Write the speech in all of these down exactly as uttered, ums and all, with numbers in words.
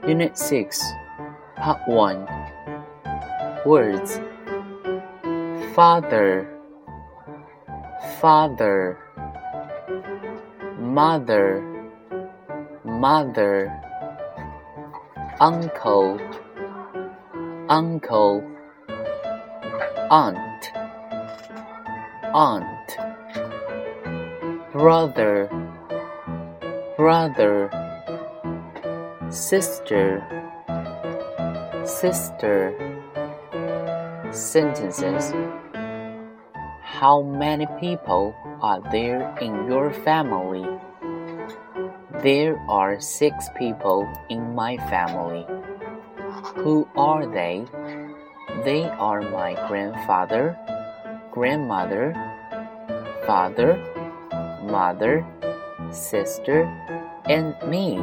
Unit six, Part one. Words. Father, father. Mother, mother. Uncle, uncle. Aunt, aunt. Brother, brother. Sister, sister. Sentences. How many people are there in your family? There are six people in my family. Who are they? They are my grandfather, grandmother, father, mother, sister, and me.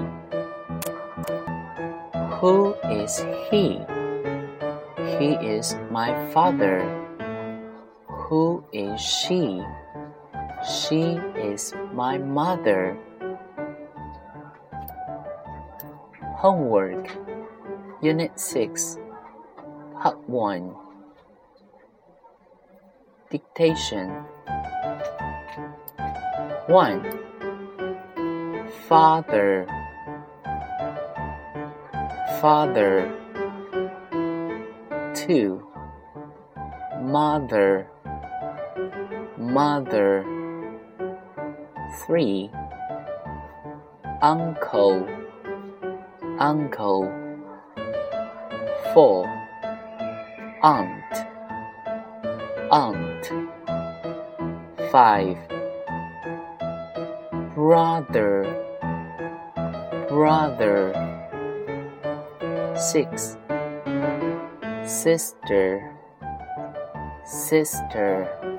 Who is he? He is my father. Who is she? She is my mother. Homework. Unit six, Part one. Dictation. one. Father, father. two. Mother, mother. three. Uncle, uncle. four. Aunt, aunt. five. Brother, brother. six. Sister, sister.